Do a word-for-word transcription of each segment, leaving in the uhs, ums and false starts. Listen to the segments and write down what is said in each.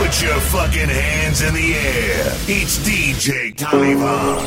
Put your fucking hands in the air. It's D J Taliban.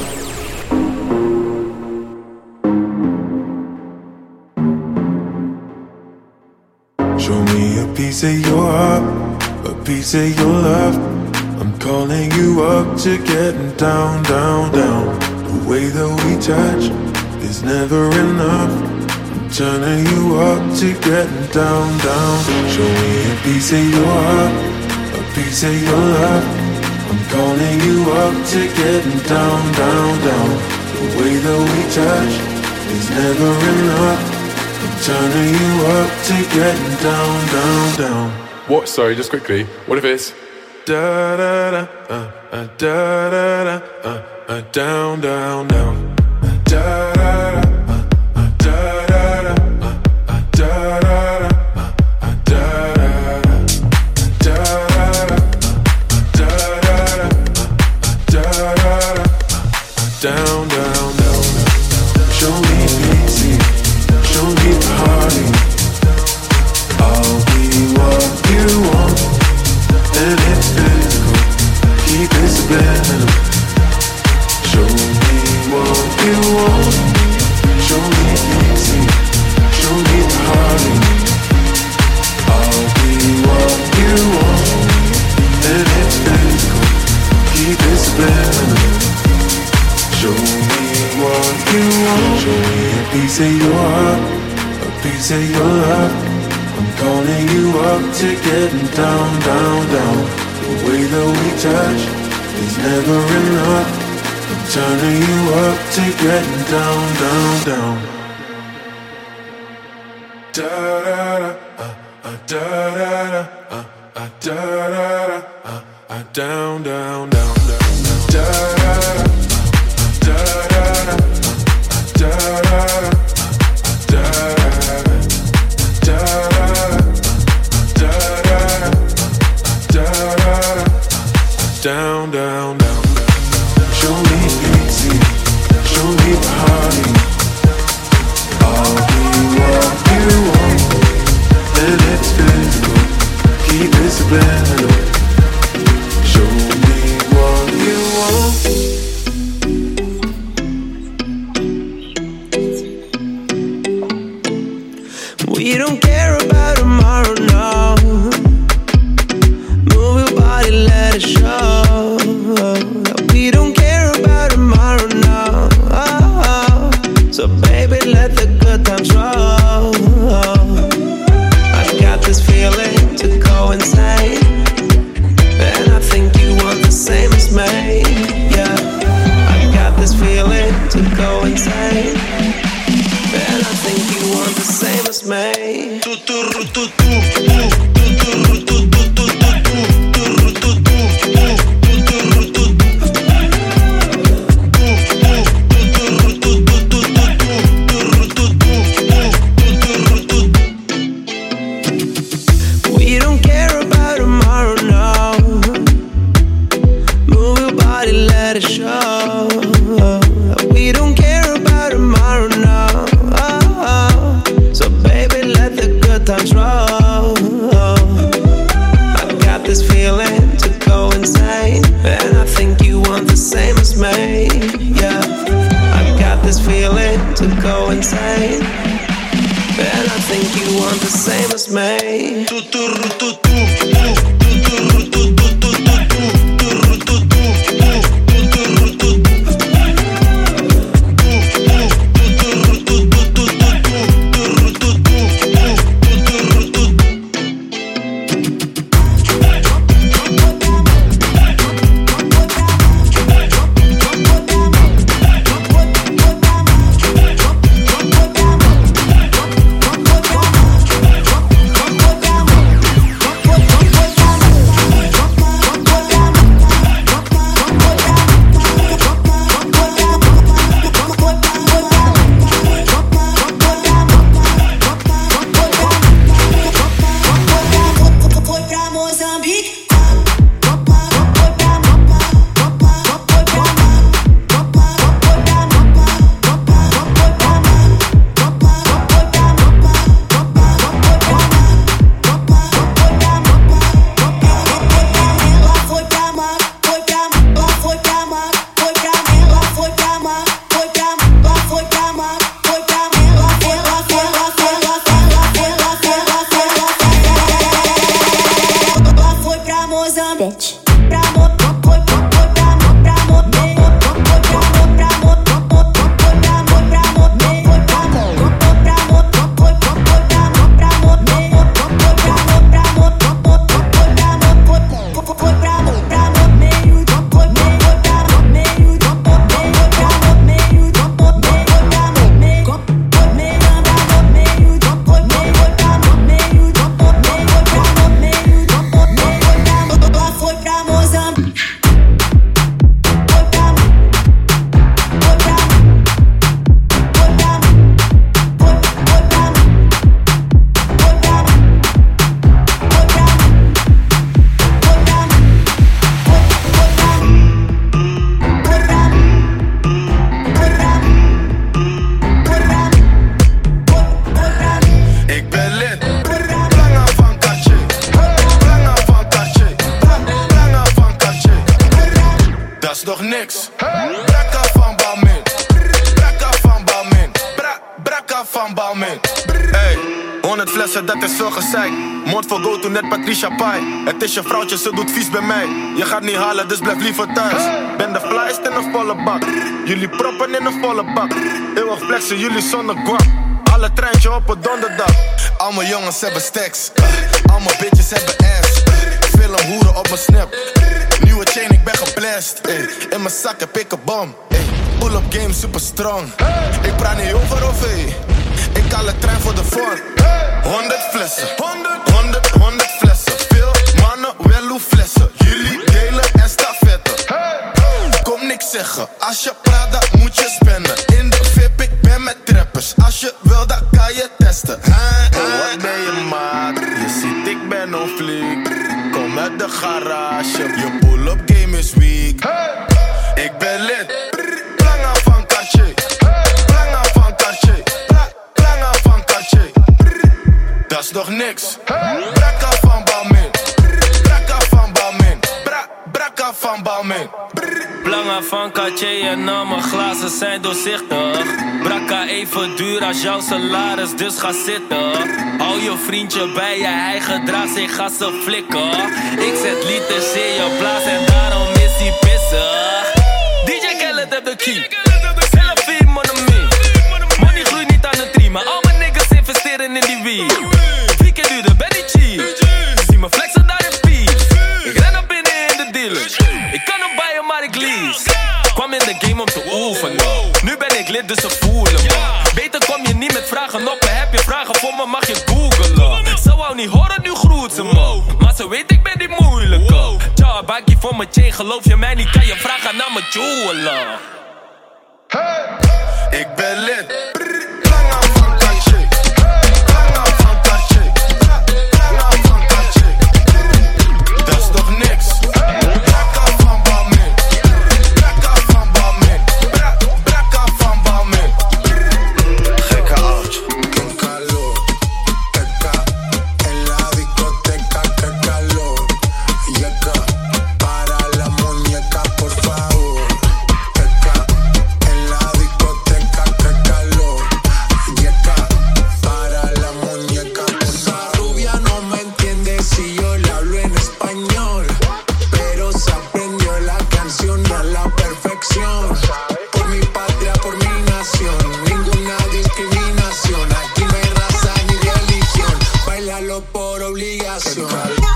Show me a piece of your heart, a piece of your love. I'm calling you up to getting down, down, down. The way that we touch is never enough. I'm turning you up to getting down, down. Show me a piece of your heart, a piece of your love. I'm calling you up to getting down, down, down. The way that we touch is never enough. I'm turning you up to getting down, down, down. What? Sorry, just quickly. What if it's da da da uh, uh, da da da uh, uh, down, down, down. Da da da. Down, down, down. Show me easy, show me party. I'll be what you want, and it's physical. Keep it subliminal. Show me what you want. Show me easy, show me party. I'll be what you want, and it's physical. Keep it subliminal. Show me what you want. Show me a piece of your heart, a piece of your love. I'm calling you up to getting down, down, down. The way that we touch is never enough. I'm turning you up to getting down, down, down. Da da da, uh, uh, da da da, uh, uh, da da da, uh, uh, down, down, down, down, da da da. Down, down, down. Show me easy, show me party. I'll be what you want, and it's physical. Keep it subliminal. Show me what you want. We don't care about tomorrow, no. Move your body, let it show. We don't care about tomorrow, no. So baby, let the good times roll. I've got this feeling to go insane, and I think you want the same as me. Yeah, I've got this feeling to go insane, and I think you want the same as me. We don't care about tomorrow, no. Move your body, let it show. We don't care about tomorrow, no. So baby, let the good times roll. I've got this feeling to go insane, and I think you want the same as me. Yeah, I've got this feeling to go insane, and I think you want the same as me. bitch. Nog niks. Brakka van Balmin. Brakka van Balmin. Bra, brakka van Balmin. Hey, honderd flessen, dat is veel gezeik. Mond voor go to net Patricia Pai. Het is je vrouwtje, ze doet vies bij mij. Je gaat niet halen, dus blijf liever thuis. Ben de flyest in een volle bak. Jullie proppen in een volle bak. Eeuwig flexen, jullie zonder guap. Alle treintje op het donderdag. Al mijn jongens hebben stacks. Al mijn bitches hebben ass. Film hoeren op mijn snap. Nieuwe chain, ik ben geblest. Ey. In mijn zak heb ik een bom. Pull-up game super strong. Ik praat niet over of hey. Ik haal een trein voor de vorm. Honderd flessen. Honderd, honderd, honderd flessen. Veel mannen, wel hoe flessen. Jullie delen en stafetten. Kom niks zeggen. Als je praat, dan moet je spenden. In de V I P, ik ben met trappers. Als je wil, dan kan je testen. Hey, hey. Wat ben je maat? Je ziet, ik ben on fleek. Kom uit de garage. Je pull-up game is weak. Hey. Ik ben lid. Planga van Cartier. Planga van Cartier. Planga van Cartier. Dat is nog niks. Brakka van Balmin. Brakka van Balmin. Bra, brakka van Balmin. Planga van Cartier en al mijn glazen zijn doorzichtig. Brakka even duur als jouw salaris, dus ga zitten. Hou je vriendje bij je, hij gedraagt zich, ga ze flikken. Ik zet liters in je blaas en daarom is hij pissig. D J Khaled heeft de key. Selfie, monomie. Money groeit niet aan de tree, maar al mijn niggas investeren in die weed. Vier keer duurder, ben niet cheap. Zie me flexen daar in peace. Ik ren op binnen in de dealers. Ik kan hem bijen, maar ik lease. Kwam in de game om te oefenen. Nu ben ik lid, dus ze voelen me. Beter kom je niet met vragen op me. Heb je vragen voor me, mag je googlen. Ze wou niet horen, nu groet ze me. Maar ze weet, ik ben die moeilijke. Tja, bakkie voor mijn chain, geloof je mij niet? Kan je vragen naar mijn jeweler. Hey, ik ben lid. Planga van Cartier. Planga van Cartier. Planga van Cartier. Dat is toch niks. Brakka van Balmin. Brakka van Balmin. Bra, brakka van Balmin. Gekke oud. Con calor, teca, en la discoteca, que calor. Yeca, para la muñeca, por favor. Teca, en la discoteca, que calor. Yeca, para la muñeca, por favor. Esa rubia no me entiende si yo le hablo en español, pero se aprendió la canción y a la perfección. Por mi patria, por mi nación, ninguna discriminación. Aquí no hay raza ni religión, bailalo por obligación.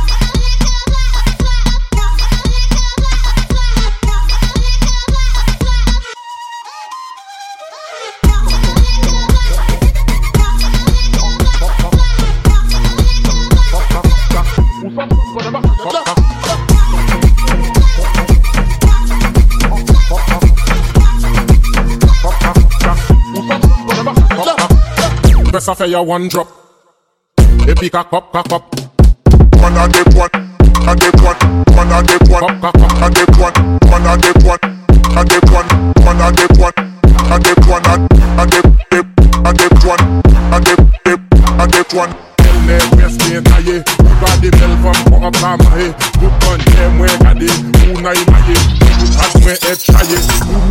Best of your one drop. They pick a cup, cup, cup. One a dip one, a dip one, one a dip one, Cup, cup, cup. a dip one, one a dip one, a dip one, one a dip one, a dip one, a dip dip, a dip one, a dip dip, a dip one. Tell me where's the taille. You got the bell from for up on my head. You gun them where got it. Who na in my head. You pass me head try it.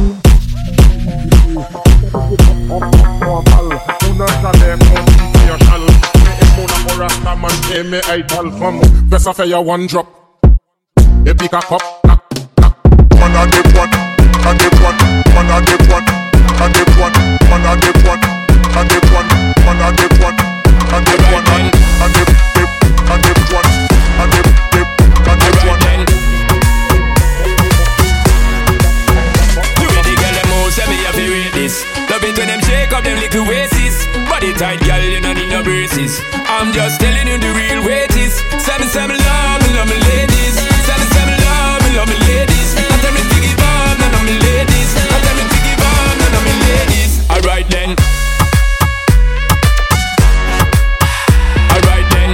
Una chale con your shal. Me e mona for Rastaman. E me idol from. Best of your one drop. You pick a cup. One a dip one, a dip one, one a dip one, a dip one, one a dip one, a dip one, one a dip one, a dip one, a dip dip, a dip one, a dip dip, a dip one. You ready, girl? Them all say me have to rate this. Love it when them shake up them little waists. Body tight, girl, you don't need no braces. I'm just telling you the real weight is. Seven, seven, love me, love me ladies. Seven, seven, love me, love me ladies. I tell me to give up, none of me ladies. I tell me to give up, none of me ladies. Alright then. Alright then.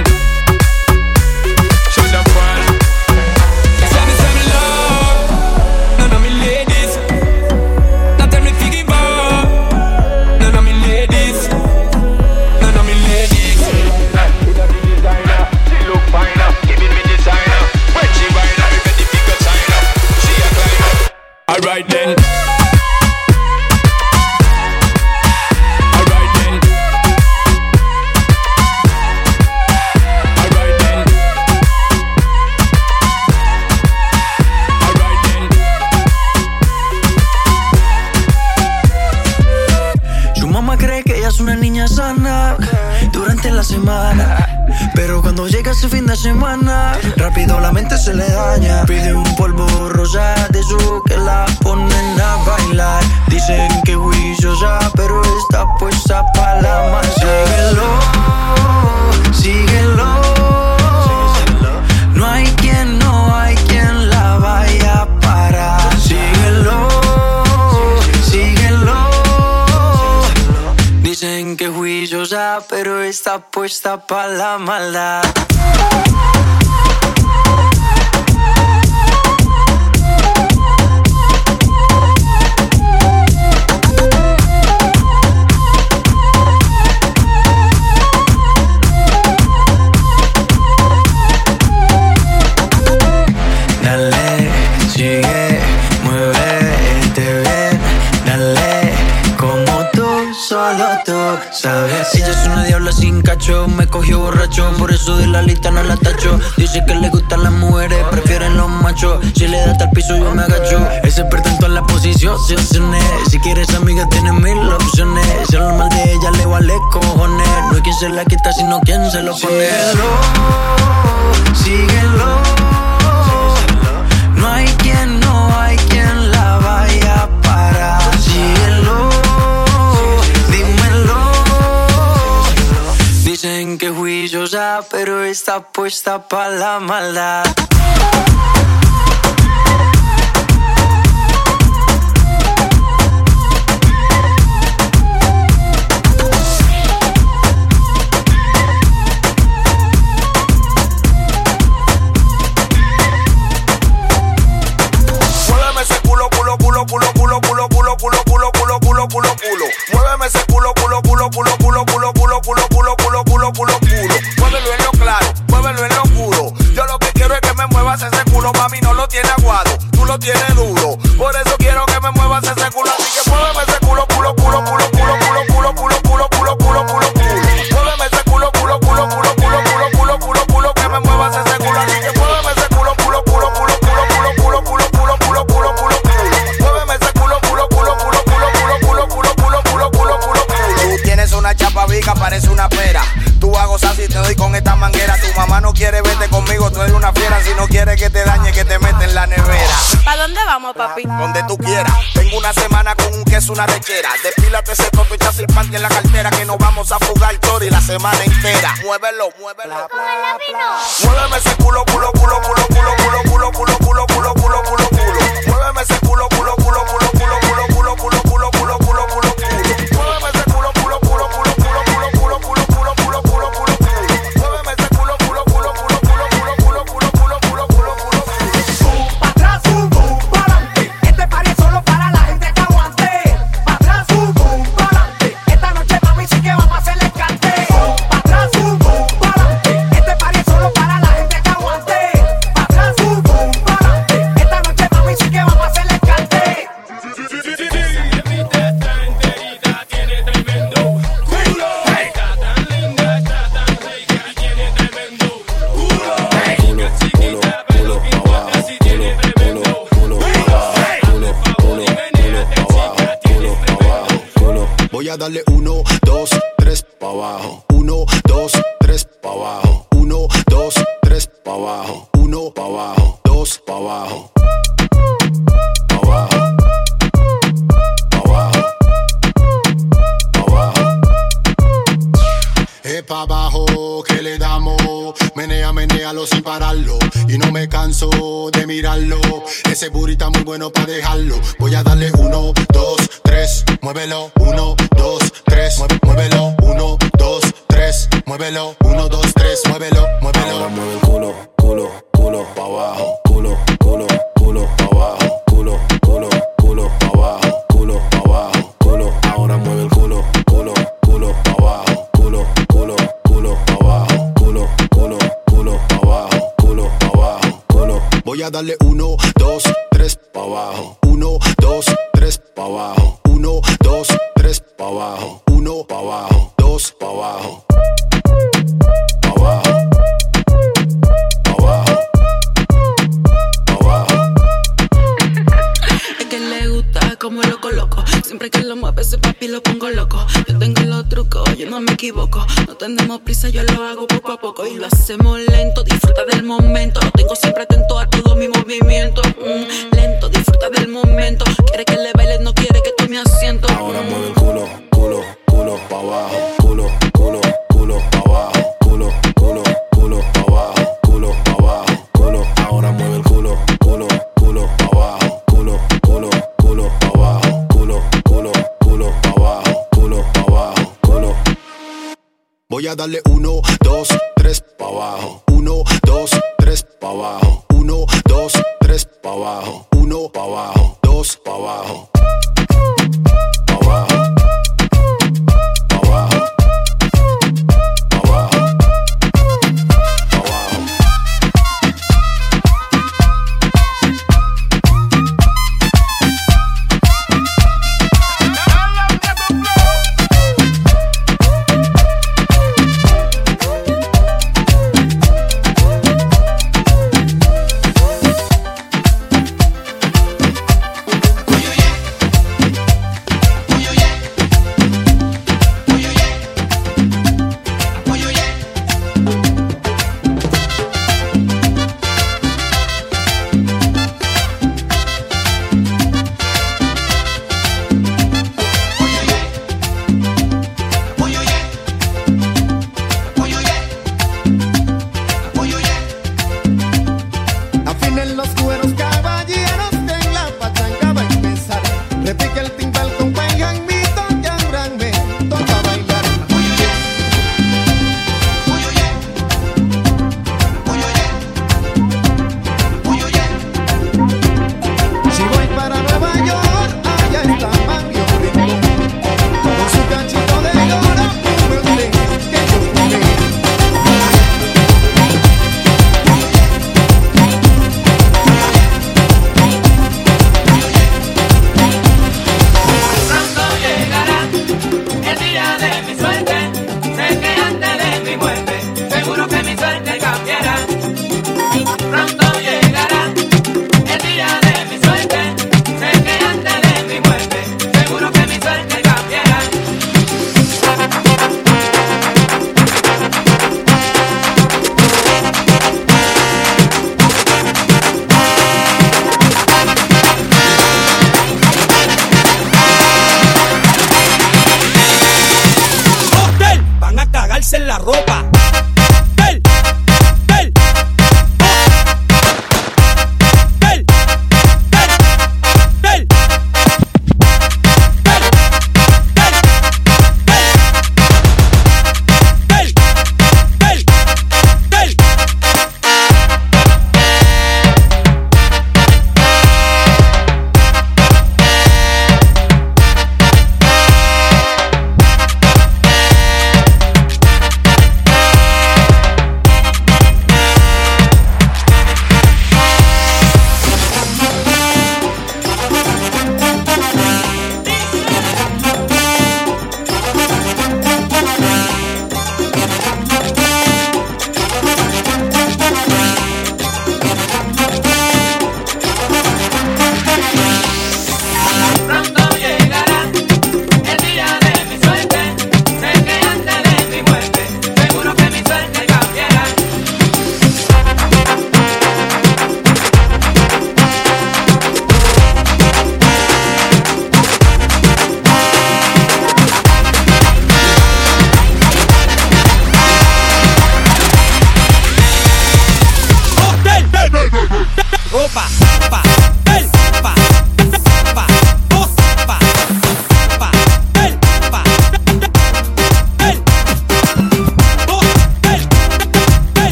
Show them fun. Seven, seven, love, none of me ladies. I tell me to give up, none of me ladies. None of me ladies. Put up the designer, she look finer, giving me designer. When she ride up, ready to go sign up. She a climber. Alright then. Alright then. Alright then. Alright then. Su mamá cree que ella es una niña sana durante la semana, pero cuando llega ese fin de semana, rápido la mente se le daña. Pide un polvo rosa de su que la ponen a bailar. Dicen que juiciosa, pero está puesta pa' la mala. Síguelo, síguelo. No hay quien, no hay quien la vaya a parar. Síguelo, síguelo. Dicen que juiciosa, pero está puesta pa' la maldad. Dale, sigue, muévete bien. Dale, como tú, solo tú sabes. Ella es una diabla sin cacho, me cogió borracho, por eso de la lista no la tacho. Dice que le gustan las mujeres, prefieren los machos. Si le da hasta el piso yo me agacho. Es experta en todas las posiciones. Si quieres amiga tienes mil opciones. Si hablar mal de ella le vale cojones. No hay quien se la quita sino quien se lo pone. Síguelo, síguelo. No hay quien, no hay quien la vaya a parar. Síguelo, dímelo. Dicen que juiciosa, pero está puesta pa' la maldad. Muéveme ese culo, culo, culo, culo, culo, culo, culo, culo, culo, culo, culo, culo, culo. Muévelo en lo claro, muévelo en lo oscuro. Yo lo que quiero es que me muevas ese culo, mami, no lo tiene aguado, tú lo tienes duro. Por eso quiero que me muevas ese culo, así que muéveme ese culo, culo, culo, culo, culo, culo, culo, culo, culo, culo, culo, culo, culo. Muéveme ese culo, culo, culo, culo, culo, culo, culo, culo, culo, que me muevas ese culo, así que muéveme ese culo, culo, culo, culo, culo, culo, culo, culo, culo, culo, culo, culo, culo. Muéveme ese culo, culo, culo, culo, culo, culo, culo, culo, culo, culo, culo, culo. Tú tienes una chapa vica, parece una pera. Tú a gozar si te doy con esta manguera. Tu mamá no quiere verte conmigo, tú eres una fiera. Si no quiere que te dañe, que te mete en la nevera. ¿Pa' dónde vamos, papi? Donde tú quieras. Tengo una semana con un queso, una lechera. Despílate ese toto y echas el panty en la cartera, que nos vamos a fugar chori la semana entera. Muévelo, muévelo. Muéveme ese culo, culo, culo, culo, culo, culo, culo, culo, culo, culo, culo, culo, culo. Muéveme ese culo, culo, culo, culo, culo, culo, culo, culo, culo, culo, culo, culo, culo. Muéveme ese culo, culo, culo, culo, culo, culo, culo, culo, culo, culo, culo, culo, culo. Muéveme ese culo, culo, culo, culo, culo, culo, culo, culo, culo, culo, culo, culo. Pa' atrás, boom, boom, pa'lante. Este party es solo para la gente que aguante. Pa' atrás, boom, boom, pa'lante. Esta noche, mami, sí que vamos a hacerle cante. Pa' atrás, boom, boom, pa'lante. Este party es solo para la gente que aguante. Pa' pa' abajo, dos pa' abajo. Pa' abajo. Pa' abajo. Pa' abajo. Es pa' abajo que le damos. Menea, menealo sin pararlo. Y no me canso de mirarlo. Ese burrito muy bueno pa' dejarlo. Voy a darle uno, dos, tres. Muévelo, uno, dos, tres. Mueve, muévelo, uno, dos, tres. Muévelo, uno, dos, tres. Muévelo, muévelo. Ahora mueve el culo, culo, culo pa' abajo. Culo, culo, culo pa' abajo. Culo, culo, culo pa' abajo. Culo pa' abajo, culo. Ahora mueve el culo, culo, culo pa' abajo. Culo, culo, culo pa' abajo. Culo, culo, culo pa' abajo. Culo pa' abajo, culo. Voy a darle uno, dos, tres pa' abajo. Uno, dos, tres pa' abajo. Uno, dos, tres pa' abajo. Uno pa' abajo, dos pa' abajo. Pa' abajo. Pa' abajo. Pa' abajo. Es que le gusta como lo coloco. Siempre que lo mueve ese papi lo pongo loco. Yo tengo los trucos, yo no me equivoco. No tenemos prisa, yo lo hago poco a poco. Y lo hacemos lento, disfruta del momento. Lo tengo siempre atento a todo mi movimiento. mm, Lento, disfruta del momento. Quiere que le bailes, no quiere que tome asiento. Ahora mueve el culo, culo, culo pa' abajo. Culo, culo, culo pa' abajo. Culo, culo, culo pa' abajo. Culo pa' abajo, culo. Ahora mueve el culo, culo, culo pa' abajo. Culo, culo, culo pa' abajo. Culo, culo, culo pa' abajo. Culo pa' abajo, culo. Voy a darle uno, dos, tres pa' abajo. Uno, dos, tres pa' abajo. Uno, dos, tres pa' abajo. Uno pa' abajo, dos pa' abajo. Pa' abajo. Pa' abajo. Pa' abajo. Pa' abajo.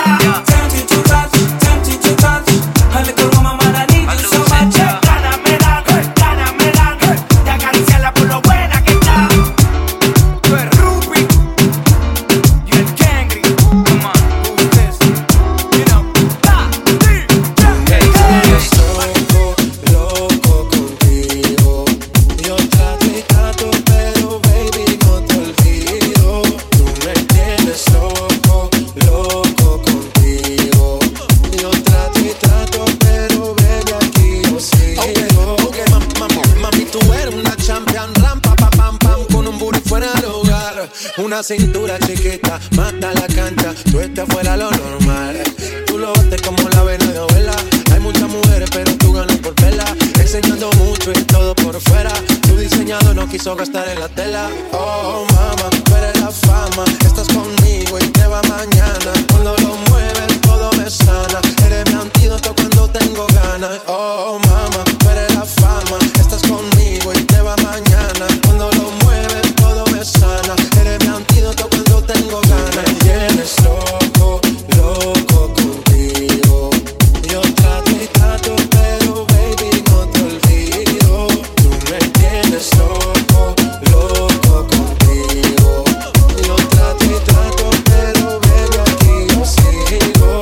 Tempted to touch, tempted to touch. A little woman, man, I need you so much. Ganas me dan, ganas me dan de acariciarla por lo buena que está. Tú eres Ruby y el Kangri. Come on, who's this? You know, da, di, yeah, yeah. Estoy loco contigo. Yo trato y trato, pero baby no te olvido. Tú me tienes loco, loco contigo. Yo trato y trato, pero baby aquí yo sigo. Ok, ok, mam, mam, mami, tú eres una champion, rampa, pa, pam, pam, con un booty fuera de lugar. Una cintura chiquita, mata la cancha, tú estás fuera lo normal. Tú lo bates como la vena de abuela. Hay muchas mujeres, pero tú ganas por vela. Enseñando mucho y todo por fuera. Tu diseñador no quiso gastar en la tela. Oh, mama, tú eres la fama. Estás conmigo y te va mañana. Cuando lo mueves, todo me sana. Eres mi antídoto cuando tengo ganas. Oh, mama, tú eres la fama. Estás conmigo y te va mañana. Cuando lo mueves, todo me sana. Eres mi antídoto cuando tengo ganas. Me tienes loco, loco contigo. Yo trato y trato, pero baby no te olvido. Tú me tienes loco, loco contigo. Yo trato y trato, pero baby aquí yo sigo.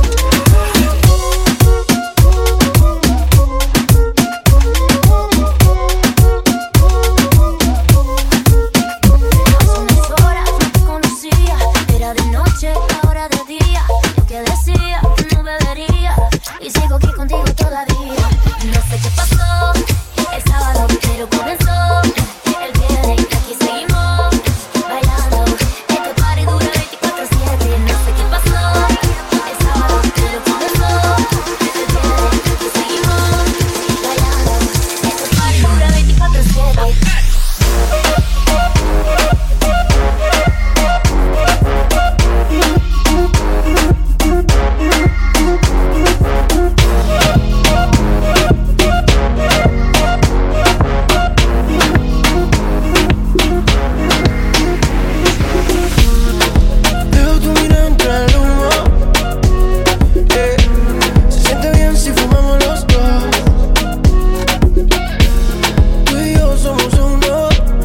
Hace unas horas no te conocía, era de noche, ahora de día. Yo que decía que no bebería y sigo aquí contigo todavía. No sé qué pasó el sábado, pero comenzó el viernes y aquí seguimos bailando. Este party dura veinticuatro siete. No sé qué pasó el sábado, pero comenzó el viernes y aquí seguimos bailando. Este party dura veinticuatro siete. Veo tu mirada entre el humo, eh. Se siente bien si fumamos los dos. Tú y yo somos uno.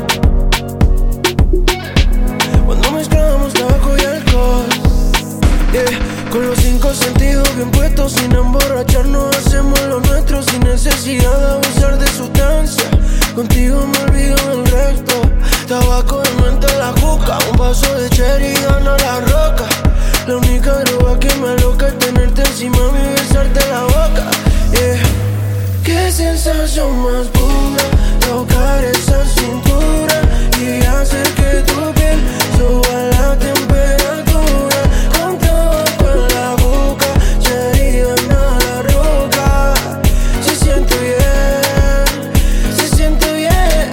Cuando mezclamos tabaco y alcohol, eh. Con los cinco sentidos bien puestos, sin emborracharnos hacemos lo nuestro, sin necesidad de abusar de sustancia. Contigo me olvido del resto. Tabaco de mente la juca, un vaso de cherry y gana la roca. La única droga que me aloca es tenerte encima y besarte la boca. Yeah. Qué sensación más pura, tocar esa cintura y hacer que tu piel suba la temperatura. Con tabaco en la boca, cherry gana la roca. Se siente bien, se siente bien.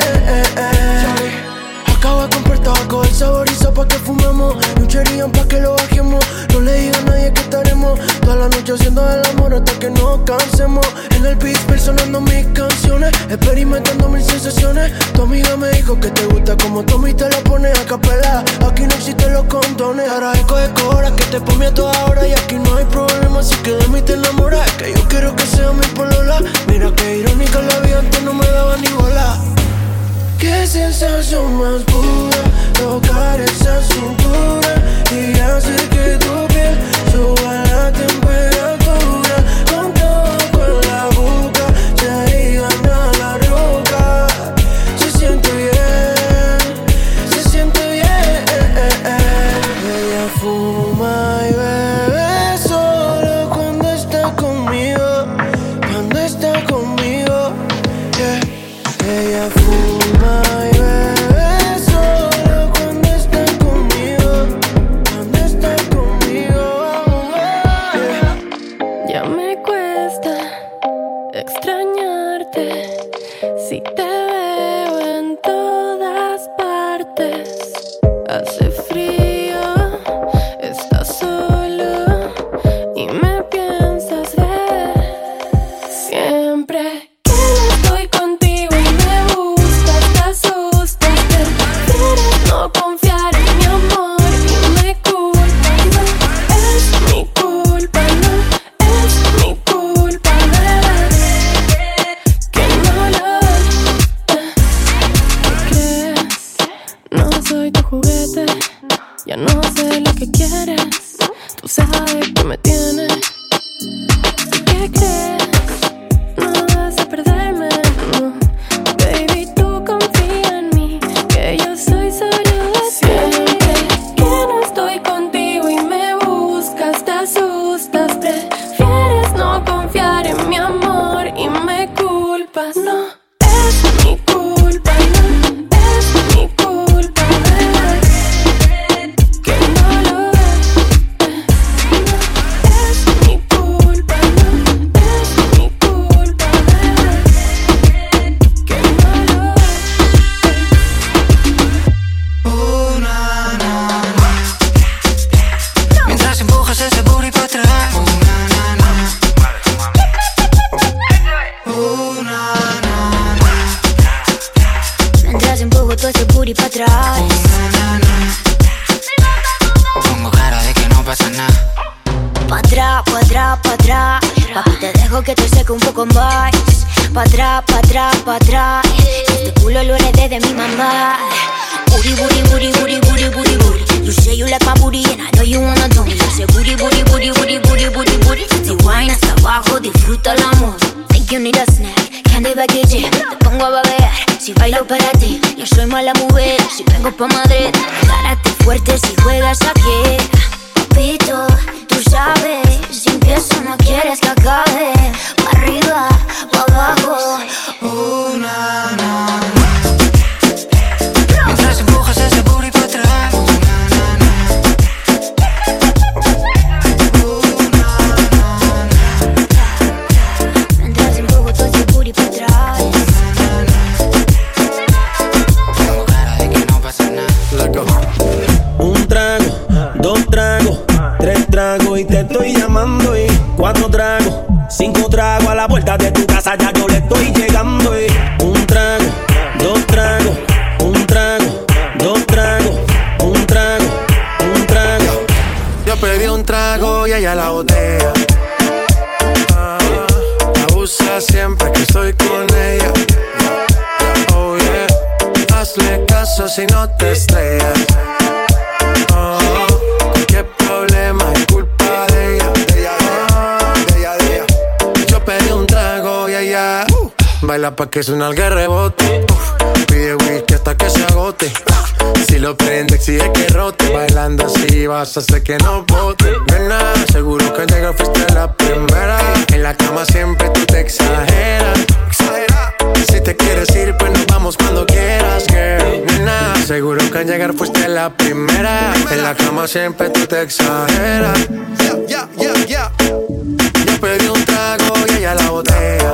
Acabo de comprar tabaco, el saborizo pa' que fumemos y un cherry pa' que lo bajemos. No le diga a nadie que estaremos toda la noche haciendo el amor hasta que nos cansemos. En el beat sonando mis canciones, experimentando mil sensaciones. Tu amiga me dijo que te gusta como Tommy te lo pones a capela. Aquí no existen los condones, ahora escoge cobra que te pone a toda hora y aquí no hay problema, así que de mí te enamoras. Es que yo quiero que sea mi polola. Mira que irónica la vida, antes no me daba ni bola. Qué sensación más pura, tocar esa cintura y hacer que tu piel suba la temperatura. Con tabaco en la boca, cherry gana la roca. Se siente bien, se siente bien. Ella fuma y bebe solo cuando está conmigo, cuando está conmigo. Yeah. Ella fuma y bebe solo vibe que me tiene. ¿Qué crees? No vas a perderme, no. Baby, tú confía en mí, que yo soy solo de siempre. Que no estoy contigo y me buscas, te asustas. Prefieres no confiar en mi amor y me culpas. No es mi culpa, no es mi culpa, bebé. Que no lo ves. No es mi culpa, no es mi culpa, bebé. Que no lo Uh, na, na, na. Mientras empujas ese booty pa' atrás. Uh, na, na, na. Uh, na, na, na. Mientras empujo todo ese booty pa' atrás. Uh, na, na, na. Pongo cara de que no pasa nada. Pa' atrás, pa' atrás, pa' atrás. Papi, te dejo que te seque un poco más. Pa' atrás, pa' atrás, pa' atrás. Este culo lo heredé de mi mamá. Booty, booty, booty, booty, booty, booty, booty. You say you like my booty and I know you wanna do me. Yo sé booty, booty, booty, booty, booty, booty, booty. Si wine hasta abajo, disfruta el amor. Think you need a snack, candy baguette. Te pongo a babear, si bailo para ti. Yo soy mala mujer, si vengo pa' Madrid. Agárrate fuerte si juegas aquí. Papito, tú sabes, sin que eso no quieres que acabe. Pa' arriba, pa' abajo. Uh, na, na, na. Mientras empujas ese booty pa' atrás. Uh, na, na, na. Uh, na, na, na. Mientras empujo todo ese booty pa' atrás. Pongo cara de que no pasa nada. Un trago, dos tragos, tres tragos y te estoy llamando y cuatro tragos, cinco tragos a la puerta de tu casa ya yo le estoy llegando y un trago, dos tragos, un trago, dos tragos, un trago, un trago. Yo pedí un trago y ella la botella. Ah, abusa siempre que estoy con ella. Oh yeah, hazle caso si no te estrellas. Oh, qué problema es culpa de ella. De ella, de ella, de ella. Yo pedí un trago y ella uh, baila pa' que suena el rebote. Uh, pide whisky hasta que se agote. Si lo prende exige que rote. Bailando así vas a hacer que no bote. Nena, seguro que al llegar fuiste la primera. En la cama siempre tú te exageras. Si te quieres ir pues nos vamos cuando quieras, girl. Nena, seguro que al llegar fuiste la primera. En la cama siempre tú te exageras. Yeah, yeah, yeah, yeah. Yo pedí un trago y ella la botella.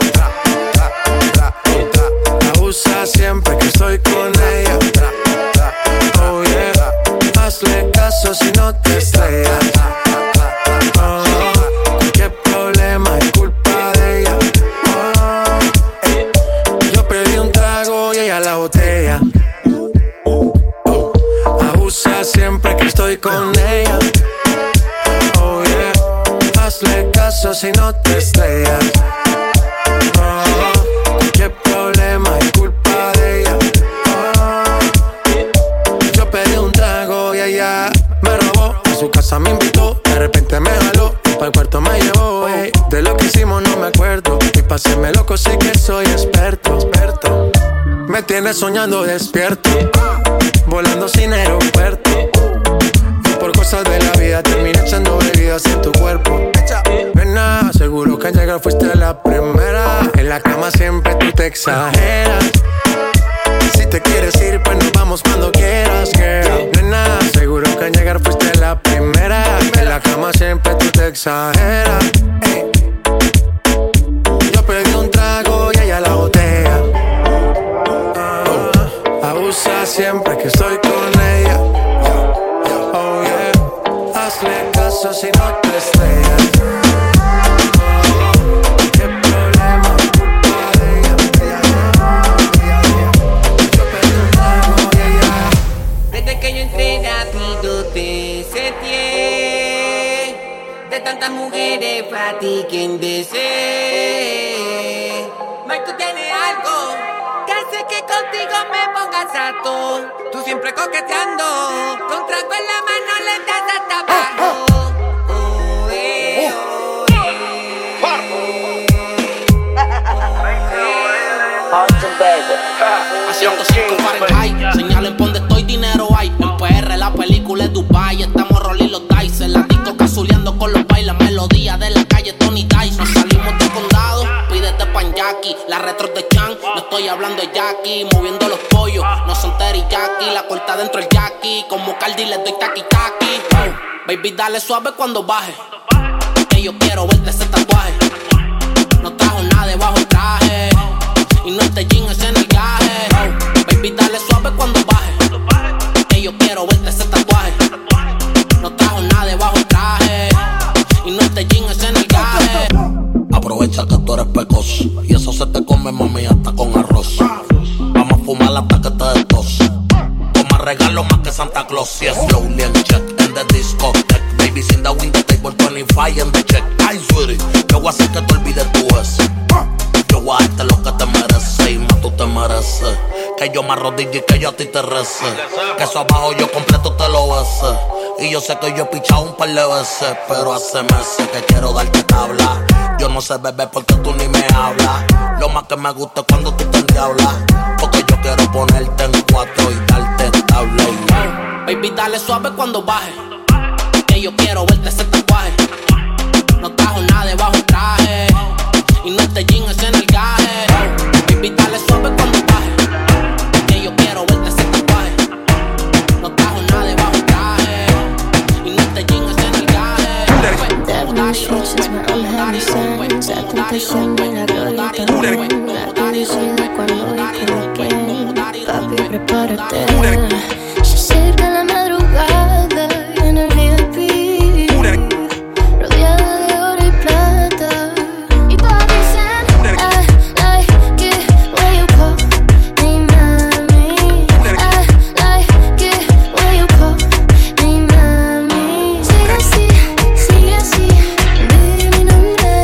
Abusa siempre que estoy con ella. Oh yeah, hazle caso si no te estrellas. Oh, qué problema es culpa de ella. Oh, eh. Yo pedí un trago y ella la botella. Abusa siempre que estoy con ella. Oh yeah, hazle caso si no te estrellas. Oh, qué problema es culpa de ella. Yo pedí un trago y ella me robó. A su casa me invitó, de repente me jaló. Pa' el cuarto me llevó, ey. De lo que hicimos no me acuerdo. Y pa' hacerme loco sé que soy experto, experto. Me tienes soñando despierto, volando sin aeropuerto. Y por cosas de la vida terminé echando bebidas en tu cuerpo. Nena, seguro que al llegar fuiste la primera. En la cama siempre tú te exageras. Si te quieres ir, pues nos vamos cuando quieras, girl. Nena, seguro que al llegar fuiste la primera. En la cama siempre tú te exageras. Ey. Yo pedí un trago y ella la botella. Uh, abusa siempre que estoy con ella. Oh yeah, hazle caso si no te estrellas. Tantas mujeres para ti quien desee. Mike, tú tienes algo que hace que contigo me pongas harto. Tú siempre coqueteando, con trago en la mano le das hasta abajo. Oh, ciento cinco Fahrenheit. Señalen por donde estoy, dinero hay. En P R la película es Dubai. Estamos rolling los dice. En la disco cazuleando con los bailes. Melodía de la calle Tony Dice. Nos salimos del condado, pídete pan Jackie. La retro de Chan, no estoy hablando de Jackie. Moviendo los pollos, no son teriyaki. La corta dentro el Jackie. Como Cardi le doy taqui taqui. Oh, baby dale suave cuando baje. Que yo quiero verte ese tatuaje. No trajo nada debajo el traje. Y no este jean es en el gaje. Oh, baby dale suave cuando baje. Que yo quiero verte ese tatuaje. No trajo nada debajo el traje. Y no este jean es en el gaje. Aprovecha que tú eres pecoso y eso se te come, mami, hasta con arroz. Vamos a fumar hasta que te des tos. Toma regalo más que Santa Claus. Yes, slowly and check in the discotheque. Babies in the window table, twenty-five in the check. Ay, sweetie, yo voy a hacer que te olvides tu ex. Yo voy a darte lo que te mereces y más tú te mereces. Que yo me arrodille y que yo a ti te rece. Que eso abajo yo completo te lo bese. Y yo sé que yo he pichado un par de veces, pero hace meses que quiero darte tabla. Yo no sé beber porque tú ni me hablas. Lo más que me gusta es cuando tú te endiablas. Porque yo quiero ponerte en cuatro y darte tabla. Oh, baby dale suave cuando baje. Que yo quiero verte ese tatuaje. No trajo nada debajo el traje. Y no este jean es en el gaje. Oh, baby dale suave cuando baje. Que yo quiero verte ese tatuaje. No trajo nada debajo el traje. Y no este jean es en el gaje. That new switch is my unhappy signs. La tentación de la glorita. La publicidad cuando equivoqué. Papi, prepárate. Se acerca la madrugada en el V I P. Rodeada de oro y plata. Y todas dicen, I like it when you call me mami. I like it when you call me mami. Sigue así, sigue así, di mi nombre.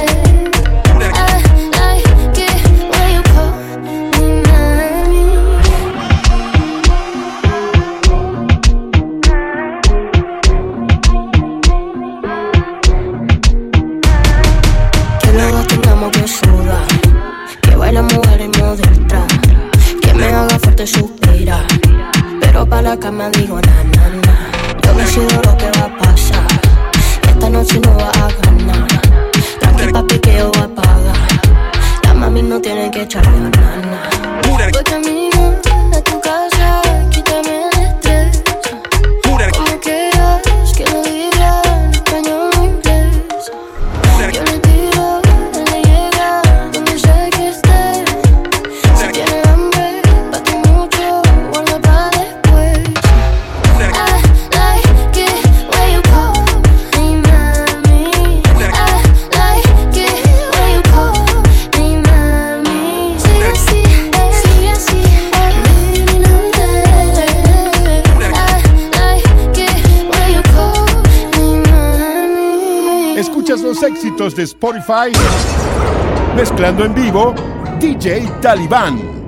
I like it when you call me mami. Que luego tengamos que sudar, que baila mujer en modo extra, que me haga fuerte suspirar, pero pa' la cama digo na na na. Yo decido lo que va a pasar, esta noche no va a ganar. Tranqui papi que yo voy a pagar, la mami no tiene que echar ganas. Voy camino a tu casa, quítame el estrés. Como quieras que lo diga en español o inglés. Yo le tiro, él le llega, donde sea que esté. Si tiene hambre, bate mucho, guarda pa' después. I like it when you call me mami. I like it when you call me mami. Sigue así, sigue así, di mi nombre. I like it when you call me mami. Escuchas los éxitos de Spotify mezclando en vivo D J Talibán.